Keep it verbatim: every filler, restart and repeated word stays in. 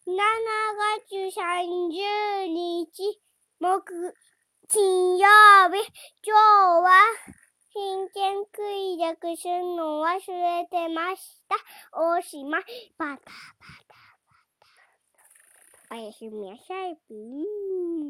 しちがつさんじゅうにち木金曜日。今日は真剣クイズするの忘れてました。おしまい。バタバタバタ。おやすみなさい。